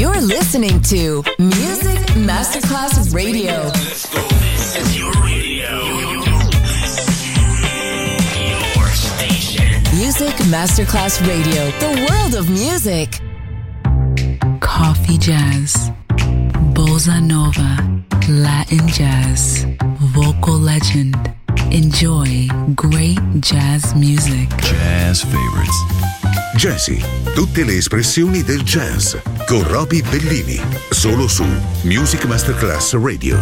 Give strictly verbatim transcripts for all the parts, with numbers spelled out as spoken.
You're listening to Music Masterclass Radio. Let's go. This is your radio. Your station. Music Masterclass Radio. The world of music. Coffee jazz, bossa nova, Latin jazz, vocal legend. Enjoy great jazz music. Jazz favorites. Jazzy, tutte le espressioni del jazz con Roby Bellini, solo su Music Masterclass Radio.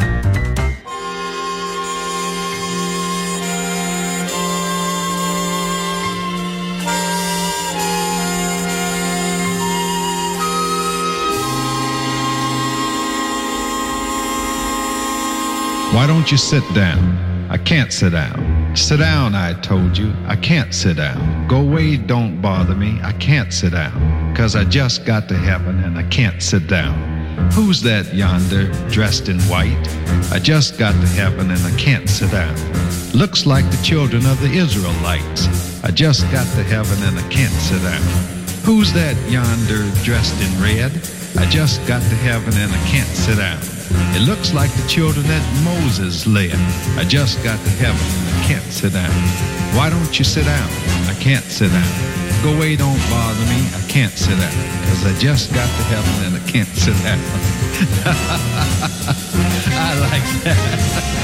Why don't you sit down? I can't sit down. Sit down, I told you. I can't sit down. Go away, don't bother me. I can't sit down. Cause I just got to heaven and I can't sit down. Who's that yonder, dressed in white? I just got to heaven and I can't sit down. Looks like the children of the Israelites. I just got to heaven and I can't sit down. Who's that yonder, dressed in red? I just got to heaven and I can't sit down. It looks like the children that Moses led. I just got to heaven and I can't sit down. Why don't you sit down? I can't sit down. Go away, don't bother me. I can't sit down. Cause I just got to heaven and I can't sit down. I like that.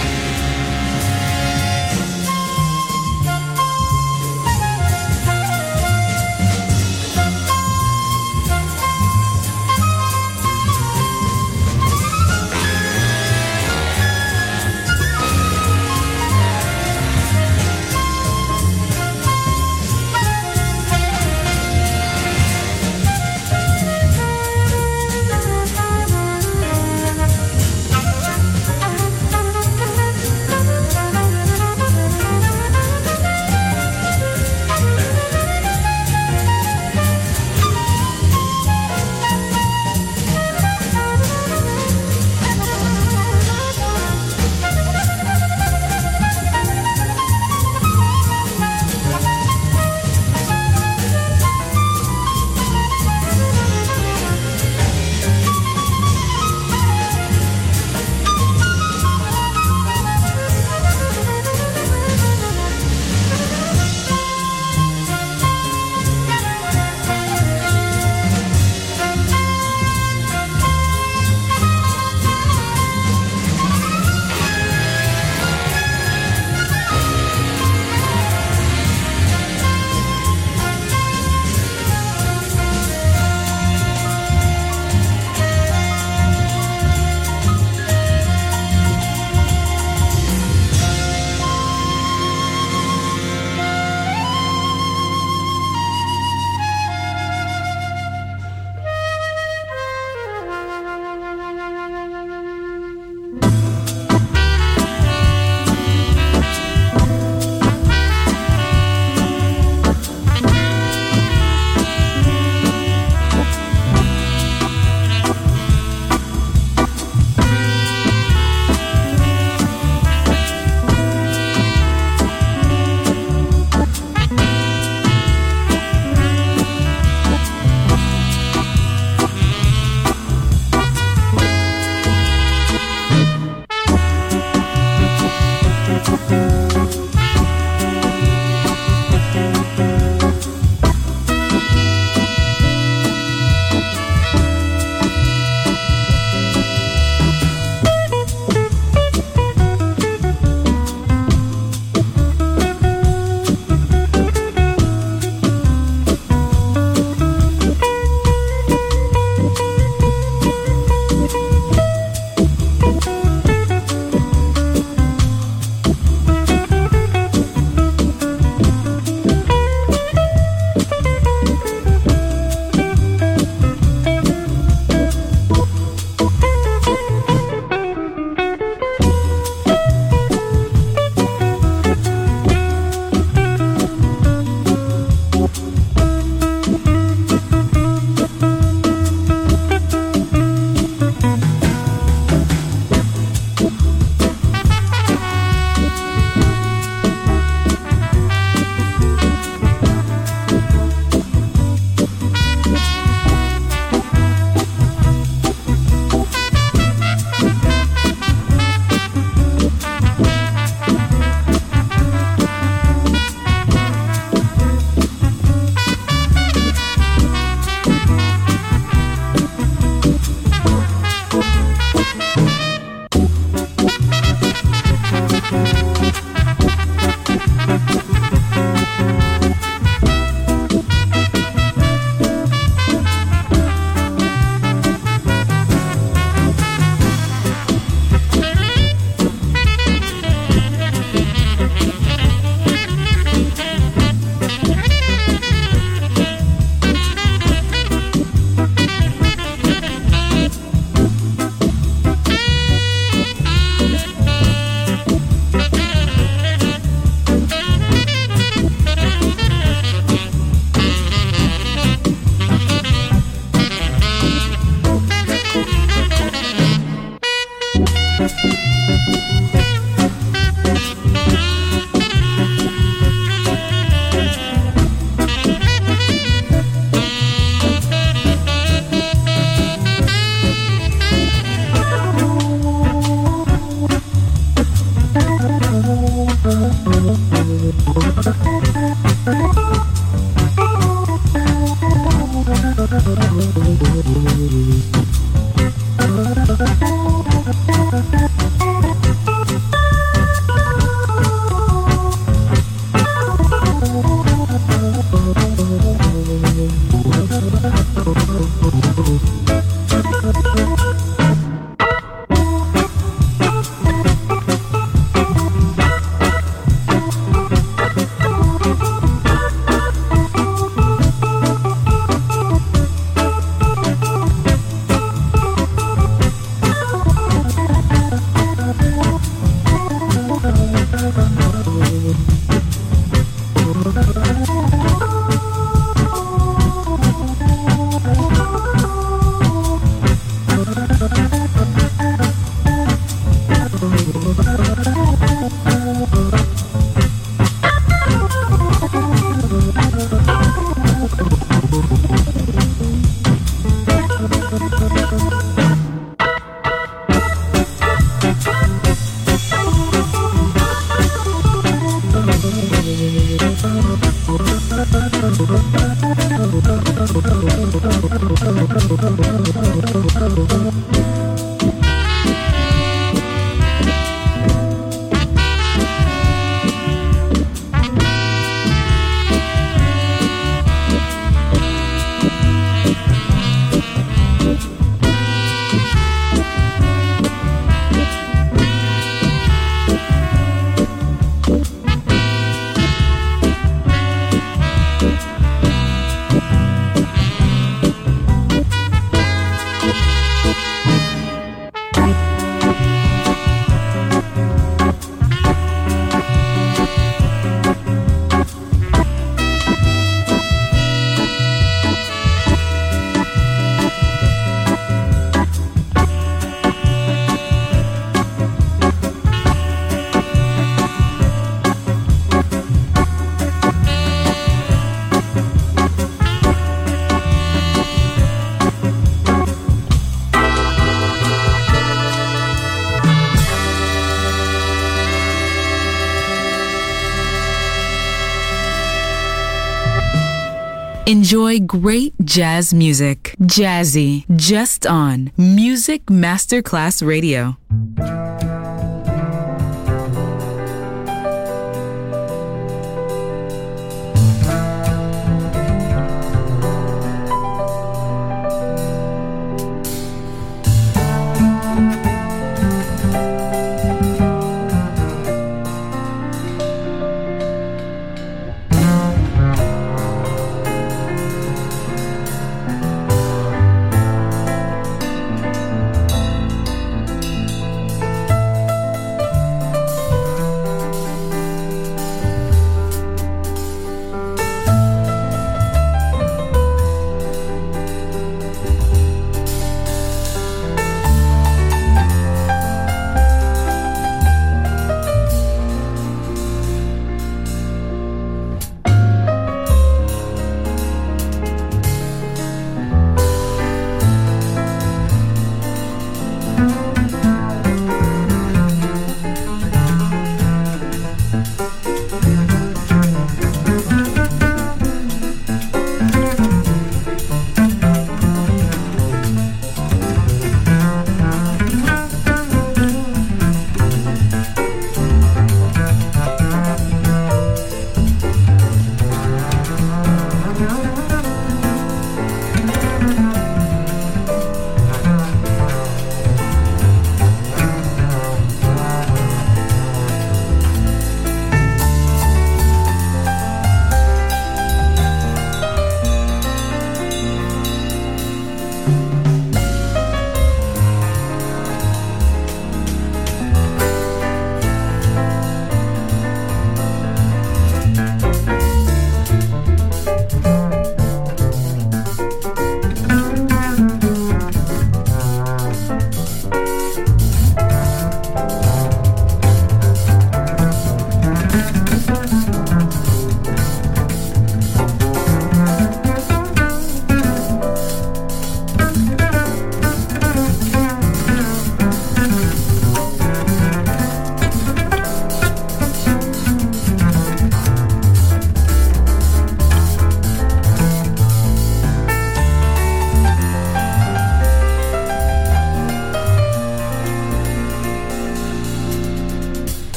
Enjoy great jazz music. Jazzy, just on Music Masterclass Radio.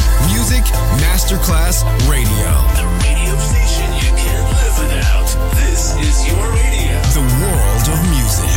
Music Masterclass Radio. The radio station you can't live without. This is your radio. The world of music.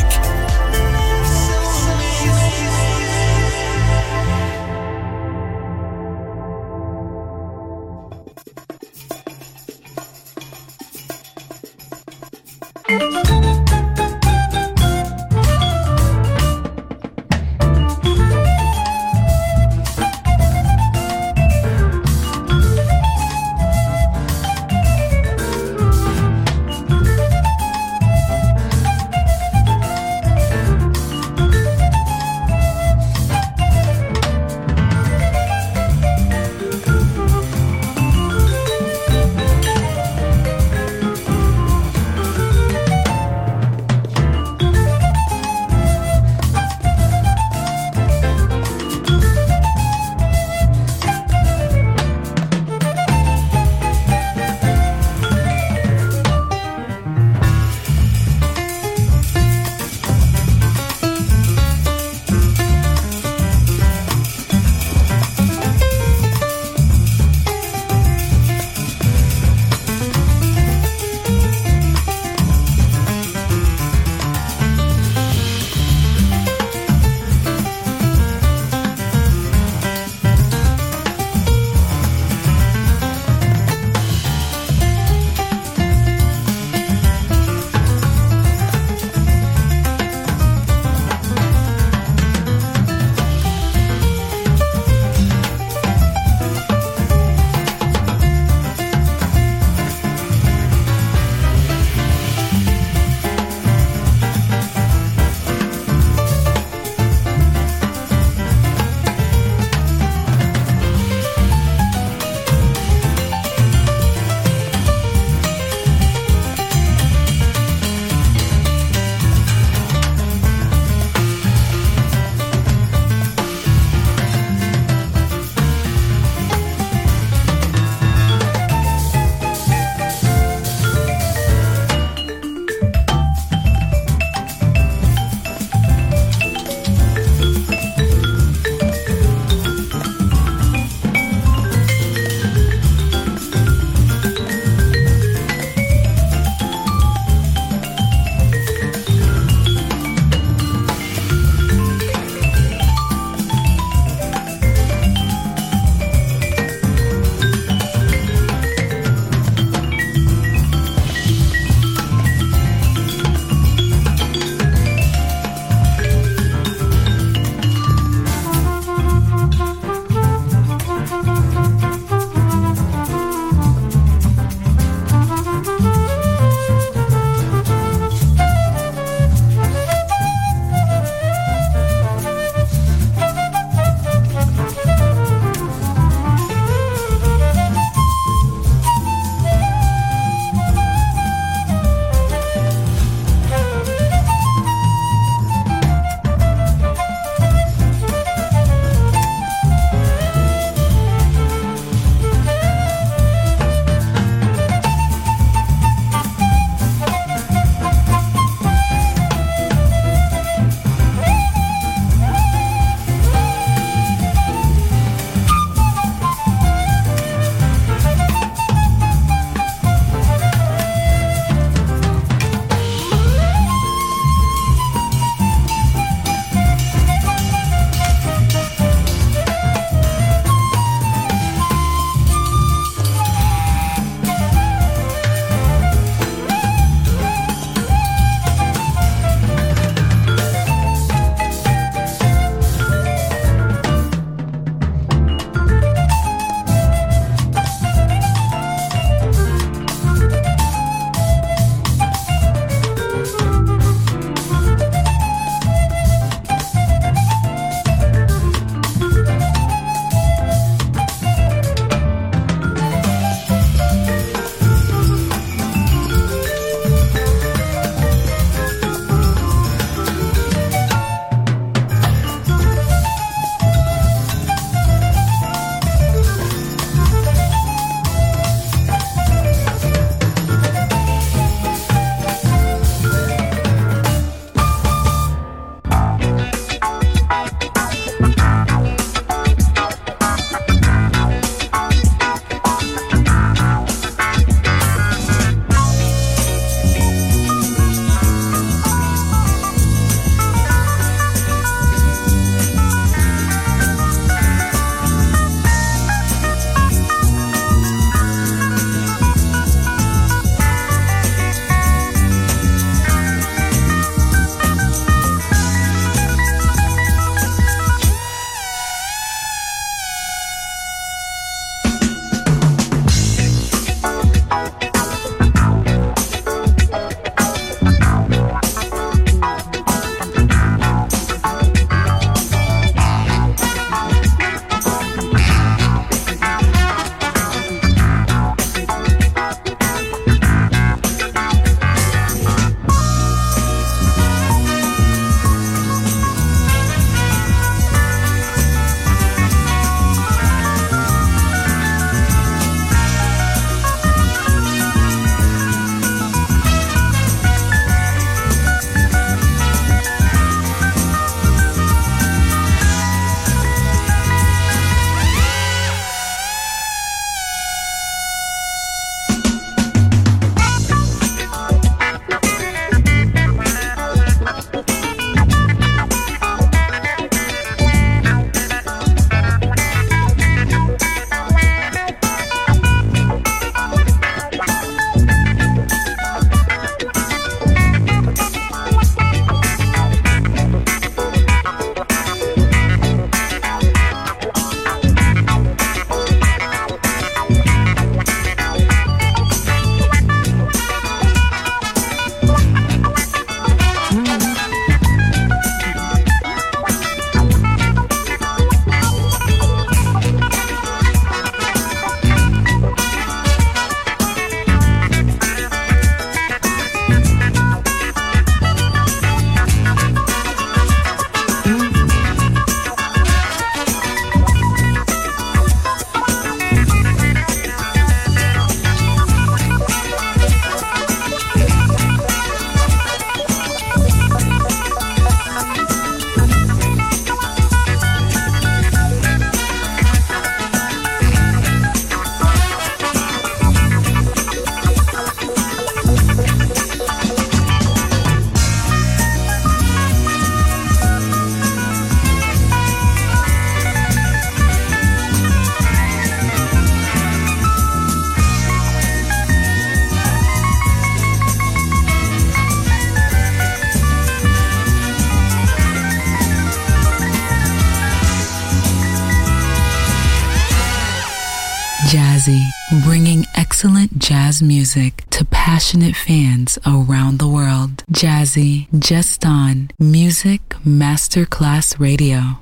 Jazzy, bringing excellent jazz music to passionate fans around the world. Jazzy, just on Music Masterclass Radio.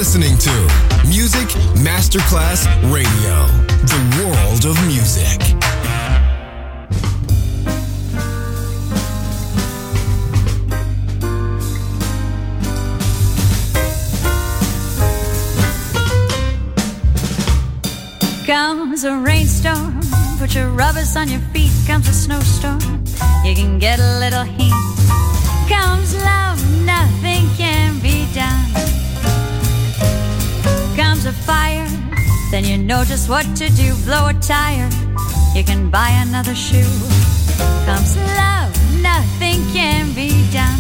listening to Music Masterclass Radio, the world of music. Comes a rainstorm, put your rubbers on your feet. Comes a snowstorm, you can get a little heat. Comes love, nothing can be done. Comes a fire, then you know just what to do. Blow a tire, you can buy another shoe. Comes love, nothing can be done.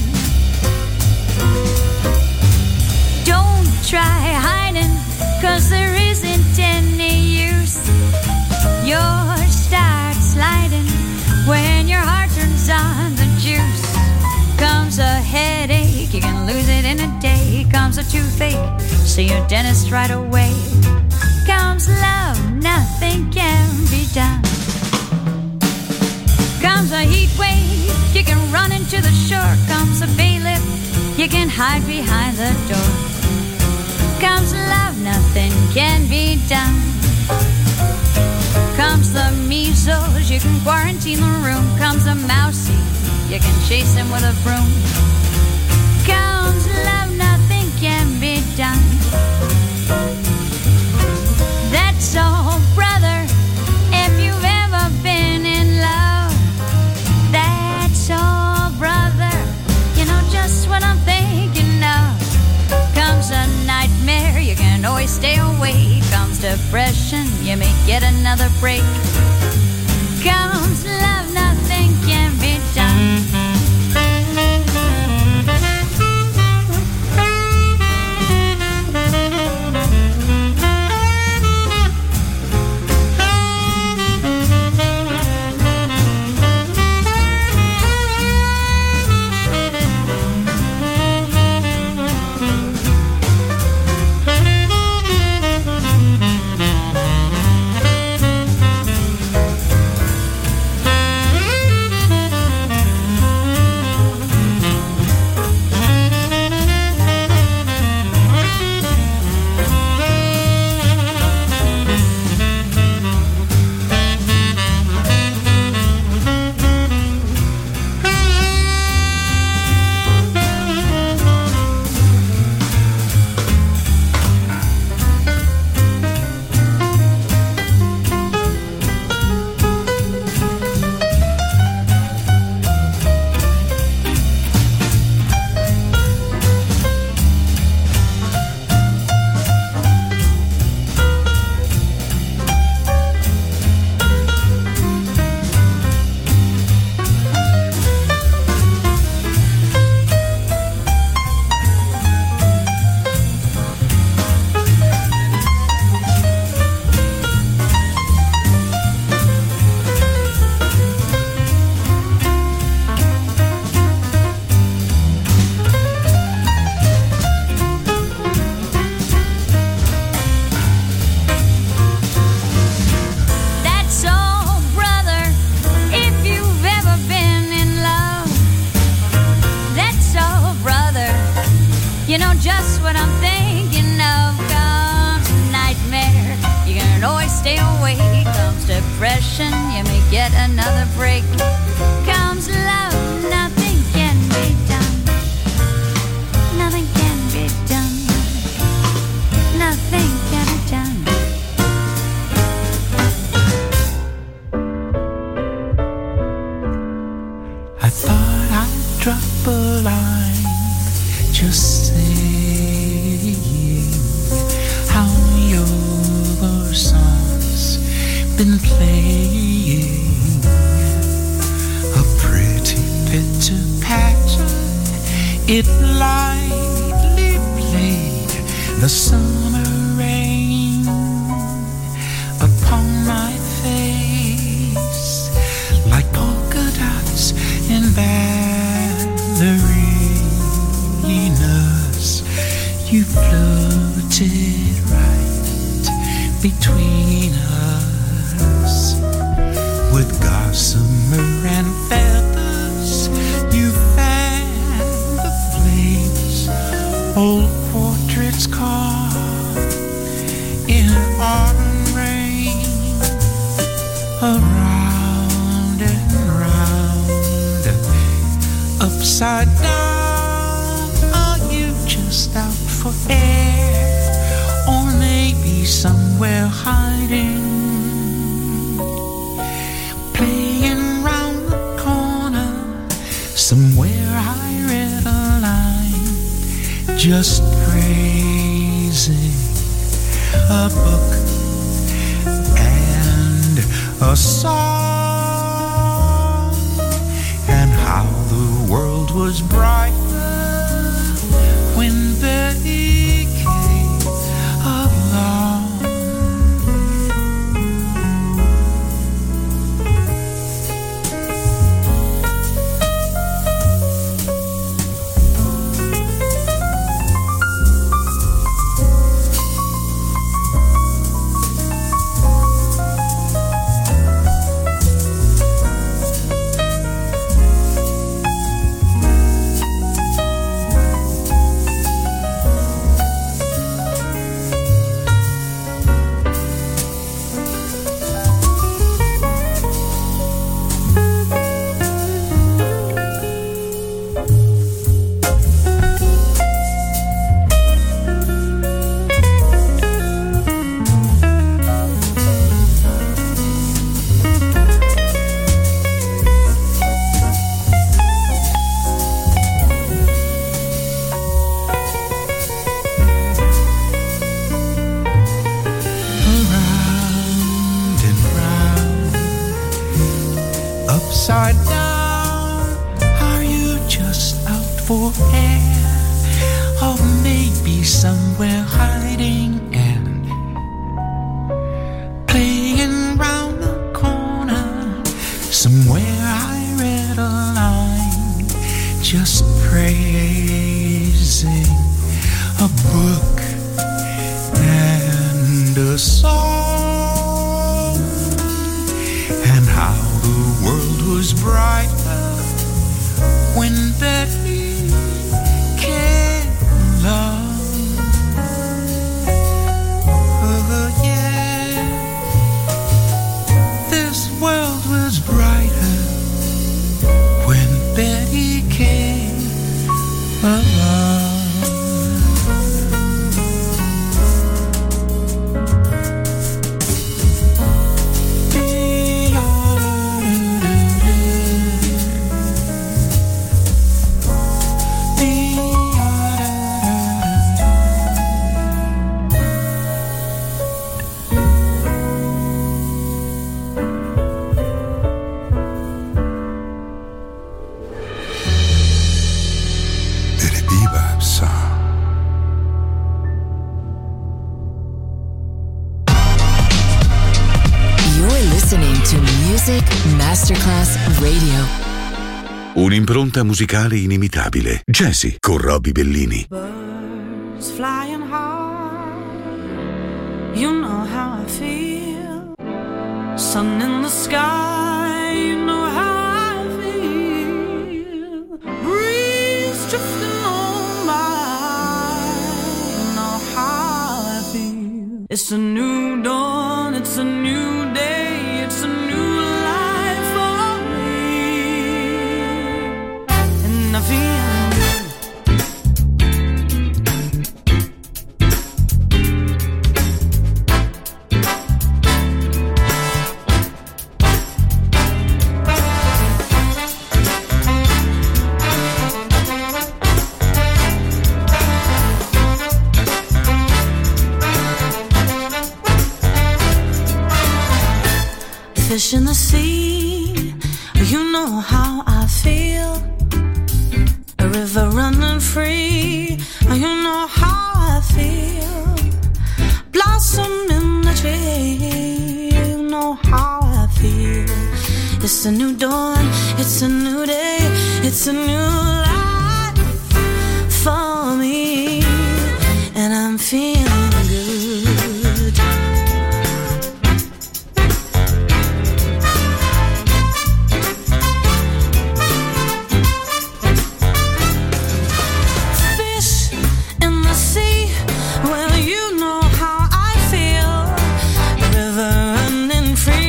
Don't try hiding, cause there isn't any use. Yours starts sliding when your heart turns on the juice. Comes a headache, you can lose it in a day. Comes a toothache, see your dentist right away. Comes love, nothing can be done. Comes a heat wave, you can run into the shore. Comes a bailiff, you can hide behind the door. Comes love, nothing can be done. Comes the measles, you can quarantine the room. Comes a mousey, you can chase him with a broom. Comes love, nothing can be done. That's all, brother, if you've ever been in love. That's all, brother, you know just what I'm thinking of. Comes a nightmare, you can always stay awake. Comes depression, you may get another break. Comes love, nothing can be done. You know just what I'm thinking of. Comes a nightmare, you can always stay awake. Comes depression, you may get another break. Comes love, nothing can be done. Nothing can be done. Nothing can be done. I thought I'd drop a line, just saying how your song's been playing a pretty picture pattern. It lightly played the summer rain upon my face like polka dots in ballerinas. You floated right between us with gossamer and feathers. You fanned the flames old portraits caught upside down? Are you just out for air? Or maybe somewhere hiding, playing round the corner? Somewhere I read a line, just praising a book and a song, and how the world was brighter when Betty came along. Upside down, are you just out for air? Or maybe somewhere hiding and playing round the corner? Somewhere I read a line, just praising a book and a song, and how the world was brighter when Betty came along. Oh yeah, this world was brighter when Betty came along. Masterclass Radio. Un'impronta musicale inimitabile. Jazzy con Robbie Bellini. Birds flying high, you know how I feel. Sun in the sky, you know how I feel. Breeze drifting on by, you know how I feel. It's a new dawn, it's a new day, it's a new I feel good. Fish in the sea, you know how I feel. A river running free, you know how I feel. Blossom in the tree, you know how I feel. It's a new dawn, it's a new day, it's a new life for me, and I'm feeling good.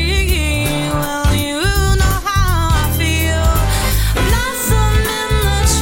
Blossom in the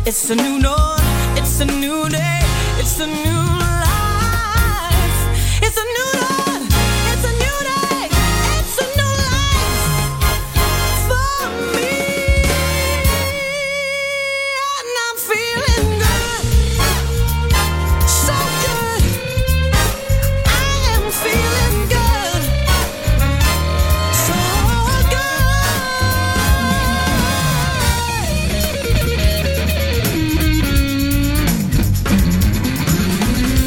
It's a new dawn, it's a new day, it's a new life. It's a new dawn, it's a new day, it's a new life for me. And I'm feeling good, so good. I am feeling good, so good.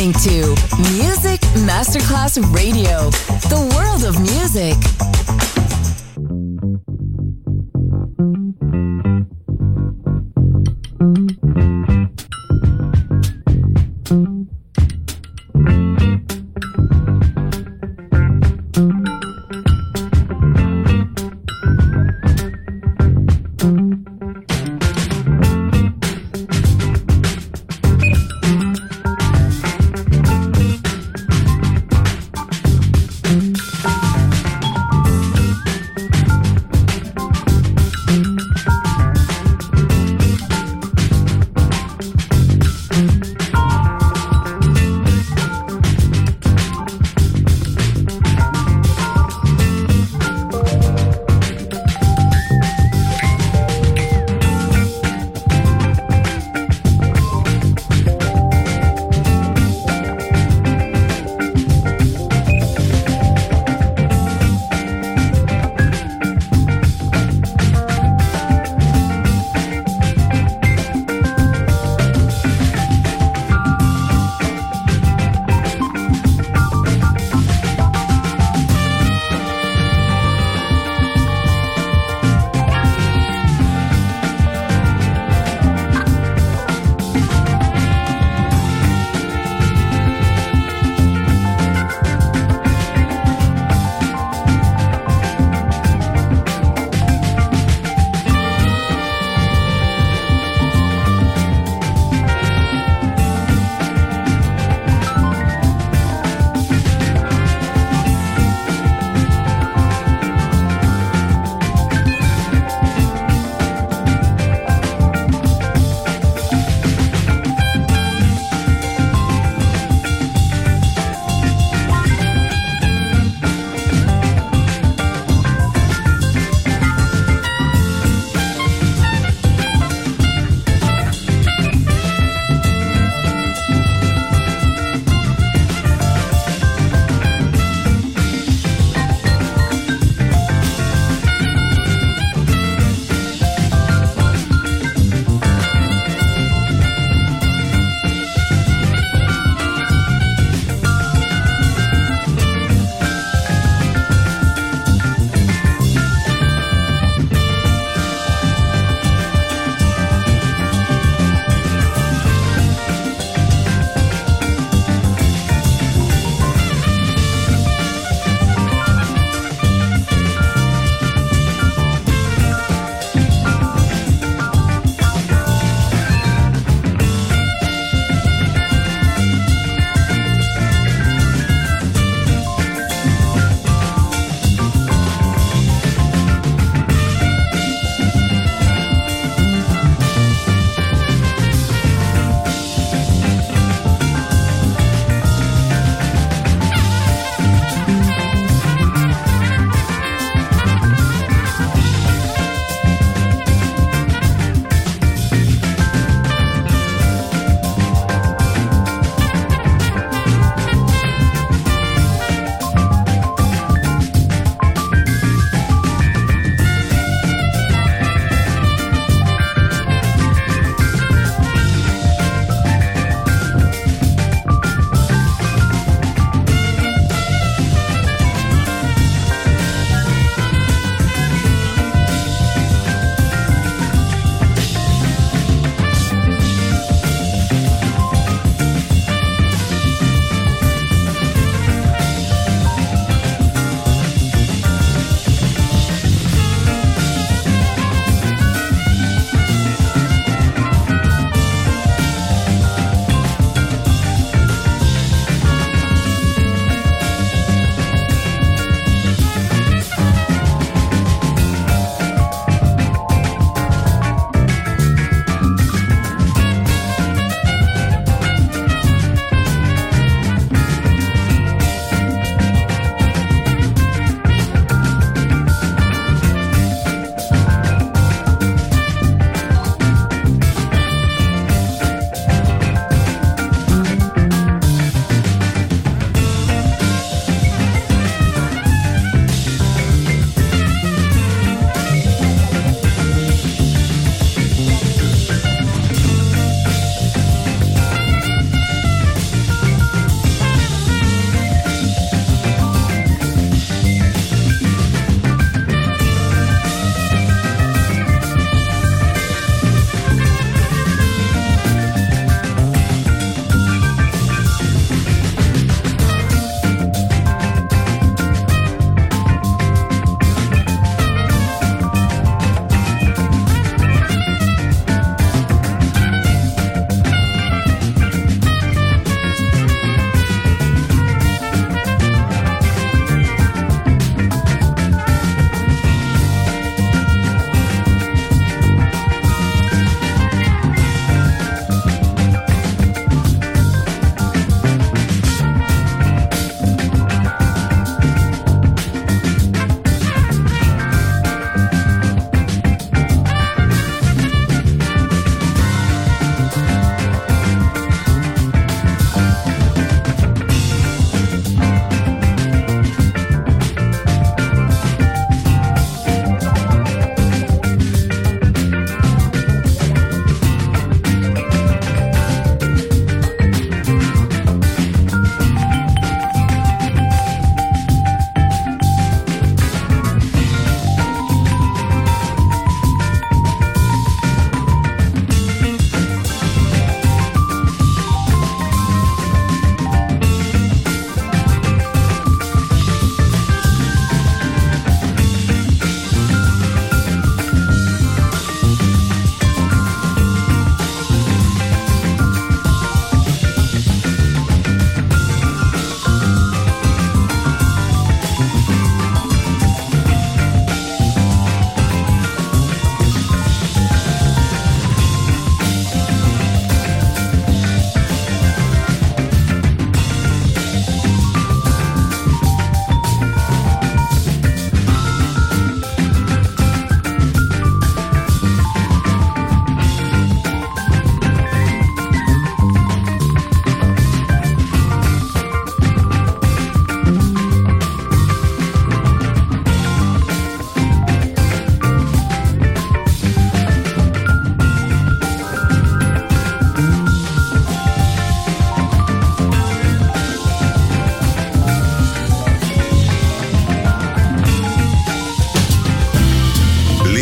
listening to Music Masterclass Radio, the world of music.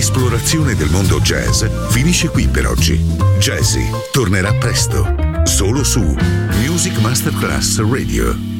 L'esplorazione del mondo jazz finisce qui per oggi. Jazzy tornerà presto, solo su Music Masterclass Radio.